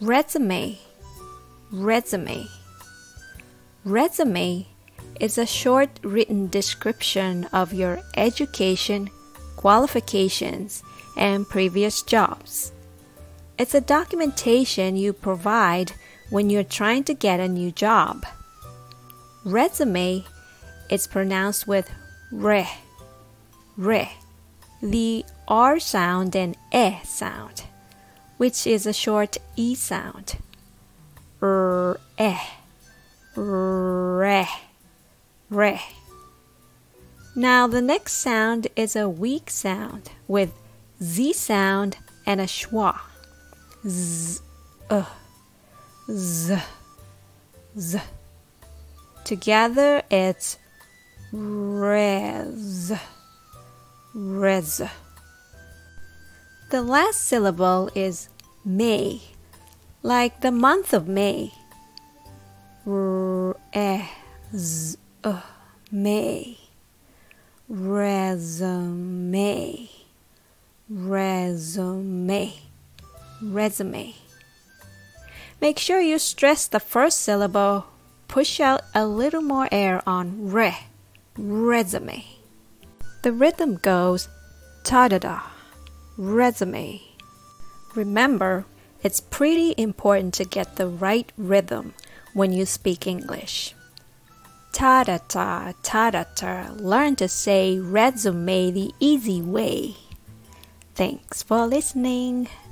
Resume, resume. Resume is a short written description of your education, qualifications, and previous jobs. It's a documentation you provide when you're trying to get a new job. Resume is pronounced with re, re, the R sound and E sound, which is a short E sound. Re, re. Now the next sound is a weak sound with Z sound and a schwa. Z, z, z. Together it's res, res. The last syllable is May, like the month of May. May. Resume, resume, resume. Make sure you stress the first syllable. Push out a little more air on re, resume. The rhythm goes ta-da-da, resume. Remember, it's pretty important to get the right rhythm when you speak English. Ta-da-ta, ta-da-ta. Learn to say resume the easy way. Thanks for listening.